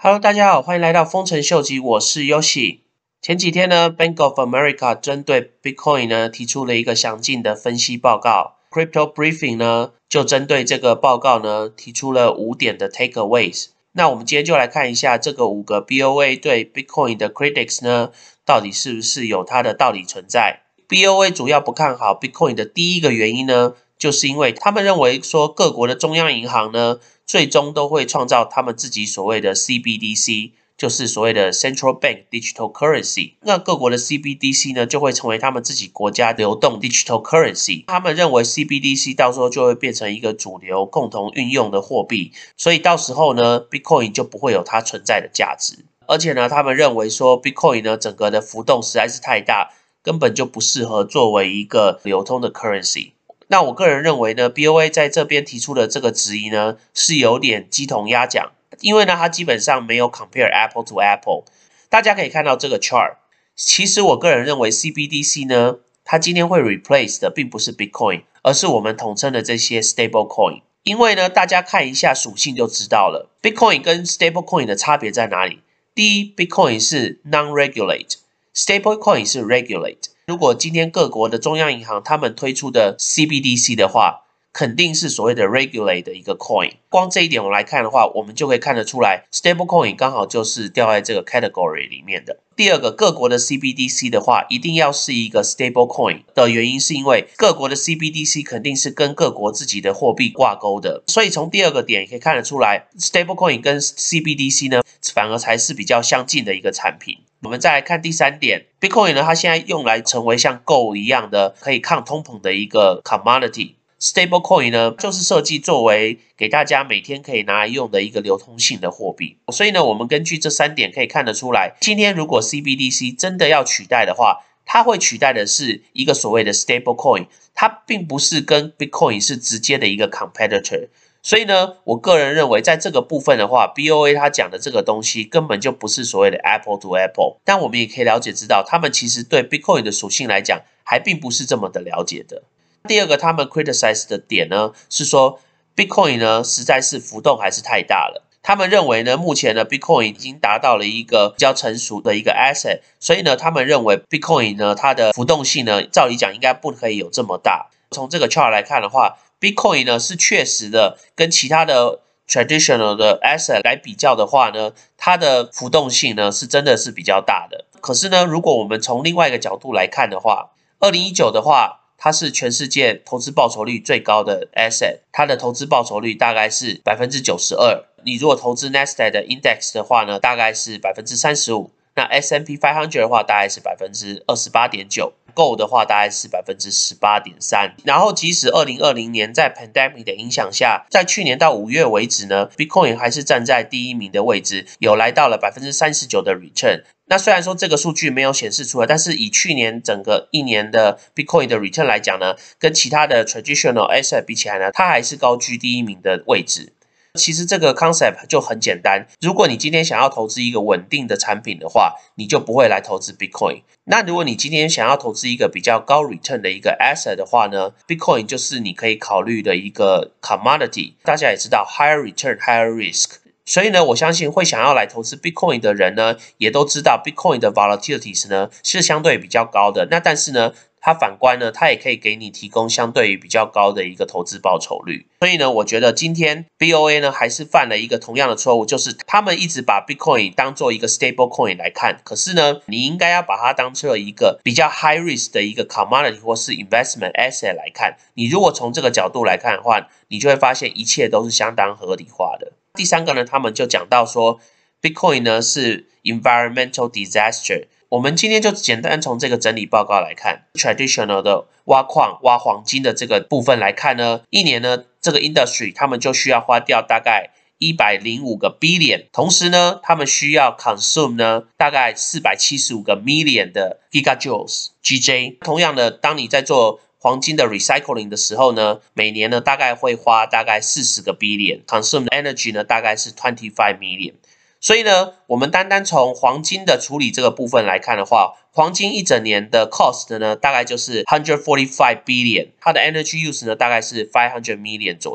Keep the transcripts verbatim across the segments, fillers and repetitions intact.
Hello， 大家好，欢迎来到丰臣秀吉，我是 Yoshi。前几天呢 ，Bank of America 针对 Bitcoin 呢提出了一个详尽的分析报告。Crypto Briefing 呢就针对这个报告呢提出了五点的 takeaways。那我们今天就来看一下这个五个 B O A 对 Bitcoin 的 critics 呢，到底是不是有它的道理存在。B O A 主要不看好 Bitcoin 的第一个原因呢，就是因为他们认为说各国的中央银行呢，最终都会创造他们自己所谓的 C B D C， 就是所谓的 Central Bank Digital Currency。那各国的 C B D C 呢，就会成为他们自己国家流动 Digital Currency。他们认为 C B D C 到时候就会变成一个主流共同运用的货币，所以到时候呢 ，Bitcoin 就不会有它存在的价值。而且呢，他们认为说 Bitcoin 呢，整个的浮动实在是太大，根本就不适合作为一个流通的 currency。那我个人认为呢 ，B O A 在这边提出的这个质疑呢，是有点鸡同鸭讲，因为呢，它基本上没有 compare Apple to Apple。大家可以看到这个 chart， 其实我个人认为 C B D C 呢，它今天会 replace 的并不是 Bitcoin， 而是我们统称的这些 stable coin。因为呢，大家看一下属性就知道了 ，Bitcoin 跟 stable coin 的差别在哪里？第一 ，Bitcoin 是 non-regulate，stable coin 是 regulate。如果今天各国的中央银行他们推出的 C B D C 的话，肯定是所谓的 regulate 的一个 coin。光这一点我们来看的话，我们就可以看得出来 ，stable coin 刚好就是掉在这个 category 里面的。第二个，各国的 C B D C 的话，一定要是一个 stable coin 的原因，是因为各国的 C B D C 肯定是跟各国自己的货币挂钩的。所以从第二个点也可以看得出来 ，stable coin 跟 C B D C 呢，反而才是比较相近的一个产品。我们再来看第三点 ，Bitcoin 呢，它现在用来成为像 Gold 一样的可以抗通膨的一个 commodity。Stable coin 呢，就是设计作为给大家每天可以拿来用的一个流通性的货币。所以呢，我们根据这三点可以看得出来，今天如果 C B D C 真的要取代的话，它会取代的是一个所谓的 stable coin， 它并不是跟 Bitcoin 是直接的一个 competitor。所以呢，我个人认为在这个部分的话 ，B O A 它讲的这个东西根本就不是所谓的 Apple to Apple。但我们也可以了解知道，他们其实对 Bitcoin 的属性来讲，还并不是这么的了解的。第二个，他们 criticize 的点呢，是说 Bitcoin 呢实在是浮动还是太大了。他们认为呢，目前呢 Bitcoin 已经达到了一个比较成熟的一个 asset， 所以呢，他们认为 Bitcoin 呢它的浮动性呢，照理讲应该不可以有这么大。从这个 chart 来看的话 ，Bitcoin 呢是确实的跟其他的 traditional 的 asset 来比较的话呢，它的浮动性呢是真的是比较大的。可是呢，如果我们从另外一个角度来看的话，二零一九的话，它是全世界投资报酬率最高的 asset， 它的投资报酬率大概是 百分之九十二。你如果投资 Nasdaq 的 index 的话呢，大概是 百分之三十五。那 S and P 五百的话，大概是 百分之二十八点九。Gold 的话大概是 百分之十八点三。然后即使二零二零年在 pandemic 的影响下，在去年到五月为止呢 ，Bitcoin 还是站在第一名的位置，有来到了 百分之三十九的 return。那虽然说这个数据没有显示出来，但是以去年整个一年的 Bitcoin 的 return 来讲呢，跟其他的 traditional asset 比起来呢，它还是高居第一名的位置。其实这个 concept 就很简单，如果你今天想要投资一个稳定的产品的话，你就不会来投资 Bitcoin。那如果你今天想要投资一个比较高 return 的一个 asset 的话呢 ，Bitcoin 就是你可以考虑的一个 commodity。大家也知道 higher return higher risk。所以呢，我相信会想要来投资 Bitcoin 的人呢，也都知道 Bitcoin 的 volatilities 呢是相对比较高的。那但是呢，它反观呢，它也可以给你提供相对于比较高的一个投资报酬率。所以呢，我觉得今天 B O A 呢还是犯了一个同样的错误，就是他们一直把 Bitcoin 当做一个 stable coin 来看，可是呢，你应该要把它当做一个比较 high risk 的一个 commodity 或是 investment asset 来看。你如果从这个角度来看的话，你就会发现一切都是相当合理化的。第三个呢，他们就讲到说 Bitcoin 呢是 environmental disaster。我们今天就简单从这个整理报告来看 ，traditional 的挖矿、挖黄金的这个部分来看呢，一年呢这个 industry 他们就需要花掉大概一百零五个 billion， 同时呢，他们需要 consume 呢大概四百七十五个 million 的 gigajoules G J。同样的，当你在做黄金的 recycling 的时候呢，每年呢大概会花大概四十个 billion，consume energy 呢大概是 twenty-five million。所以呢，我们单单从黄金的处理这个部分来看的话，黄金一整年的 cost 呢，大概就是 one hundred forty-five billion， 它的 energy use 呢，大概是 five hundred million 左右。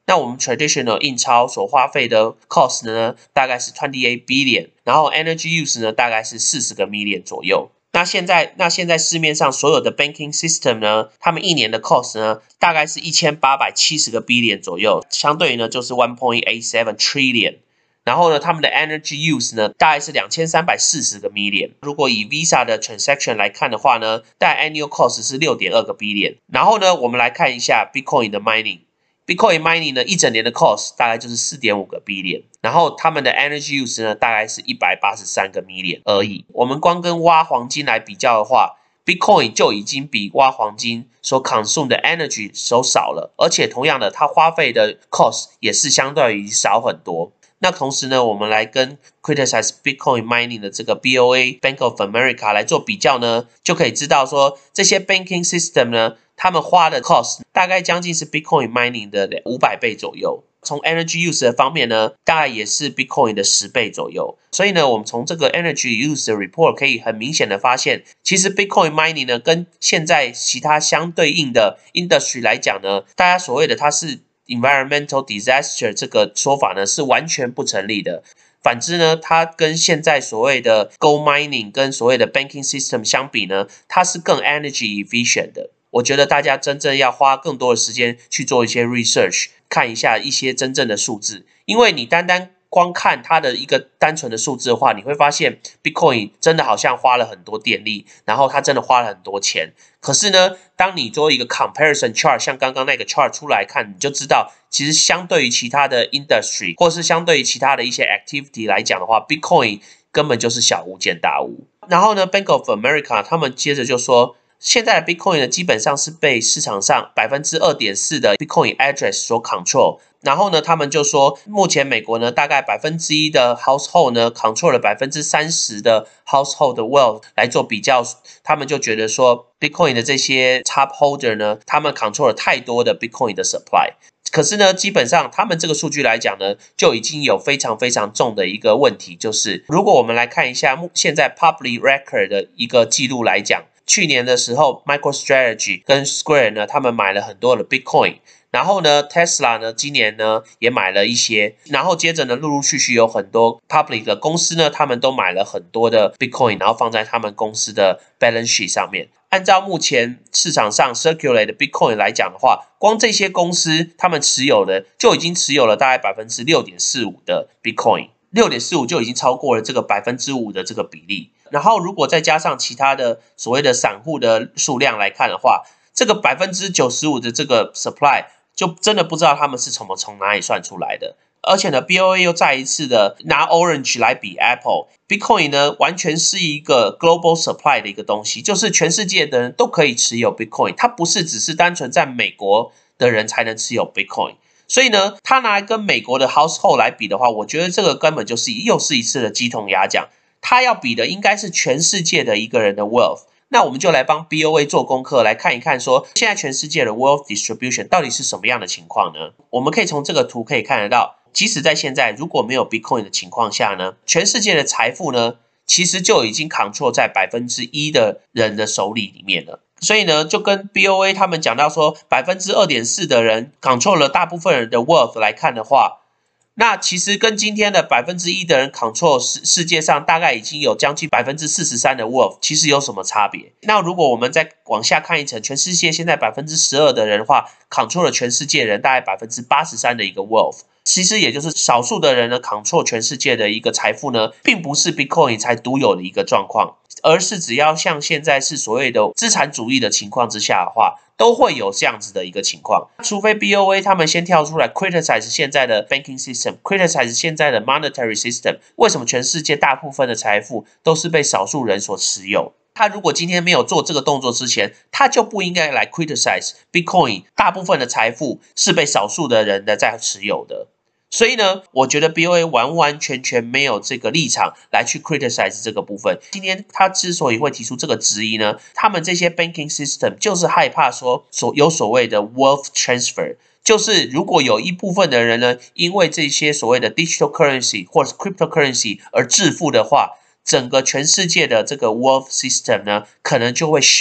那我们 traditional 印钞所花费的 cost 呢，大概是 twenty-eight billion， 然后 energy use 呢，大概是四十个 million 左右。那现在，那现在市面上所有的 banking system 呢，他们一年的 cost 呢，大概是一千八百七十个 billion 左右，相对于呢就是 one point eight seven trillion。然后呢，他们的 energy use 呢，大概是两千三百四十个 million。如果以 Visa 的 transaction 来看的话呢，大概 annual cost 是 六点二个 billion。然后呢，我们来看一下 Bitcoin 的 mining。Bitcoin mining 呢，一整年的 cost 大概就是 四点五个 billion， 然后他们的 energy use 呢，大概是一百八十三个 million 而已。我们光跟挖黄金来比较的话 ，Bitcoin 就已经比挖黄金所 consume 的 energy 都少了，而且同样的，它花费的 cost 也是相对于少很多。那同时呢，我们来跟 criticize Bitcoin mining 的这个 B O A Bank of America 来做比较呢，就可以知道说这些 banking system 呢，他们花的 cost 大概将近是 Bitcoin mining 的五百倍左右。从 energy use 的方面呢，大概也是 Bitcoin 的十倍左右。所以呢，我们从这个 energy use 的 report 可以很明显的发现，其实 Bitcoin mining 呢，跟现在其他相对应的 industry 来讲呢，大家所谓的它是environmental disaster 这个说法呢是完全不成立的。反之呢，它跟现在所谓的 gold mining 跟所谓的 banking system 相比呢，它是更 energy efficient 的。我觉得大家真正要花更多的时间去做一些 research， 看一下一些真正的数字，因为你单单光看它的一个单纯的数字的话，你会发现 Bitcoin 真的好像花了很多电力，然后它真的花了很多钱。可是呢，当你做一个 comparison chart， 像刚刚那个 chart 出来看，你就知道，其实相对于其他的 industry， 或是相对于其他的一些 activity 来讲的话 ，Bitcoin 根本就是小巫见大巫。然后呢 ，Bank of America 他们接着就说，现在的 Bitcoin 呢，基本上是被市场上 百分之二点四 的 Bitcoin address 所 control。然后呢，他们就说，目前美国呢，大概 百分之一 的 household 呢 control 了 百分之三十 的 household 的 wealth 来做比较，他们就觉得说 Bitcoin 的这些 top holder 呢，他们 control 了太多的 Bitcoin 的 supply。可是呢，基本上他们这个数据来讲呢，就已经有非常非常重的一个问题，就是如果我们来看一下现在 public record 的一个记录来讲，去年的时候 MicroStrategy 跟 Square 呢，他们买了很多的 Bitcoin。然后呢 ，Tesla 呢，今年呢也买了一些，然后接着呢，陆陆续续有很多 public 的公司呢，他们都买了很多的 Bitcoin， 然后放在他们公司的 balance sheet 上面。按照目前市场上 circulate 的 Bitcoin 来讲的话，光这些公司他们持有的就已经持有了大概 百分之六点四五 的 Bitcoin， 六点四五 就已经超过了这个 百分之五 的这个比例。然后如果再加上其他的所谓的散户的数量来看的话，这个 百分之九十五 的这个 supply 就真的不知道他们是从从哪里算出来的。而且呢 ，B O A 又再一次的拿 Orange 来比 Apple。Bitcoin 呢，完全是一个 global supply 的一个东西，就是全世界的人都可以持有 Bitcoin， 它不是只是单纯在美国的人才能持有 Bitcoin。所以呢，它拿来跟美国的 household 来比的话，我觉得这个根本就是又是一次的鸡同鸭讲。它要比的应该是全世界的一个人的 wealth。那我们就来帮 B O A 做功课，来看一看说现在全世界的 wealth distribution 到底是什么样的情况呢？我们可以从这个图可以看得到，即使在现在如果没有 Bitcoin 的情况下呢，全世界的财富呢，其实就已经 control 在 百分之一 的人的手里里面了。所以呢，就跟 B O A 他们讲到说 百分之二点四 的人 control 了大部分人的 wealth 来看的话，那其实跟今天的 百分之一 的人 control 世世界上大概已经有将近 百分之四十三 的 wealth， 其实有什么差别？那如果我们再往下看一层，全世界现在 百分之十二 的人的话 control 了全世界人大概 百分之八十三 的一个 wealth， 其实也就是少数的人呢 control 全世界的一个财富呢，并不是 Bitcoin 才独有的一个状况，而是只要像现在是所谓的资产主义的情况之下的话，都会有这样子的一个情况，除非 B O A 他们先跳出来 criticize 现在的 banking system，criticize 现在的 monetary system， 为什么全世界大部分的财富都是被少数人所持有？他如果今天没有做这个动作之前，他就不应该来 criticize Bitcoin 大部分的财富是被少数的人的在持有的。所以呢，我觉得 B O A 完完全全没有这个立场来去 criticize 这个部分。今天他之所以会提出这个质疑呢，他们这些 banking system 就是害怕说所有所谓的 wealth transfer， 就是如果有一部分的人呢，因为这些所谓的 digital currency 或者是 cryptocurrency 而致富的话，整个全世界的这个 wealth system 呢，可能就会 shift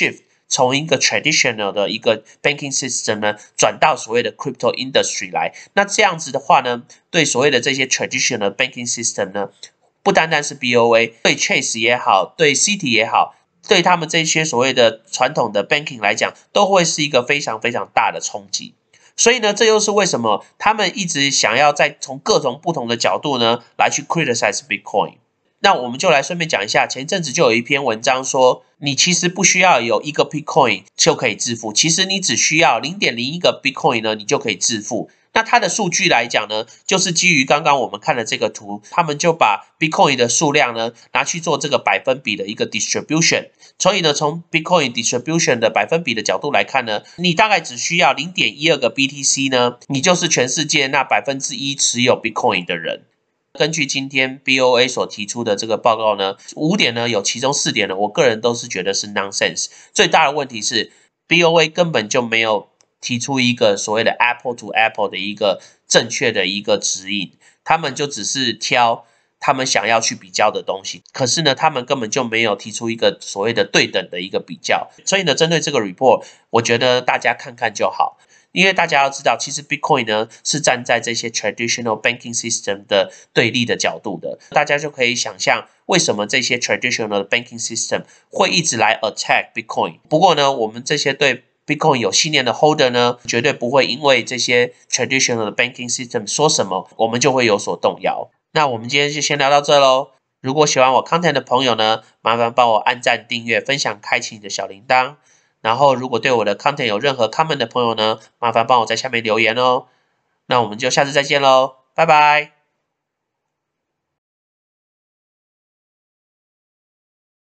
从一个 traditional 的一个 banking system 呢，转到所谓的 crypto industry 来。那这样子的话呢，对所谓的这些 traditional banking system 呢，不单单是 B O A， 对 Chase 也好，对 Citi 也好，对他们这些所谓的传统的 banking 来讲，都会是一个非常非常大的冲击。所以呢，这又是为什么他们一直想要在从各种不同的角度呢，来去 criticize Bitcoin。那我们就来顺便讲一下，前一阵子就有一篇文章说，你其实不需要有一个 Bitcoin 就可以致富，其实你只需要 零点零一 个 Bitcoin 呢，你就可以致富。那它的数据来讲呢，就是基于刚刚我们看的这个图，他们就把 Bitcoin 的数量呢拿去做这个百分比的一个 distribution。所以呢，从 Bitcoin distribution 的百分比的角度来看呢，你大概只需要 零点一二 个 B T C 呢，你就是全世界那 百分之一 持有 Bitcoin 的人。根据今天 B O A 所提出的这个报告呢，五点呢有其中四点呢，我个人都是觉得是 nonsense。最大的问题是 B O A 根本就没有提出一个所谓的 Apple to Apple 的一个正确的一个指引，他们就只是挑他们想要去比较的东西，可是呢，他们根本就没有提出一个所谓的对等的一个比较。所以呢，针对这个 report， 我觉得大家看看就好。因为大家要知道，其实 Bitcoin 呢是站在这些 traditional banking system 的对立的角度的，大家就可以想象为什么这些 traditional 的 banking system 会一直来 attack Bitcoin。不过呢，我们这些对 Bitcoin 有信念的 holder 呢，绝对不会因为这些 traditional 的 banking system 说什么，我们就会有所动摇。那我们今天就先聊到这咯。如果喜欢我 content 的朋友呢，麻烦帮我按赞、订阅、分享、开启你的小铃铛。然后，如果对我的 content 有任何 comment 的朋友呢，麻烦帮我在下面留言哦。那我们就下次再见喽，拜拜。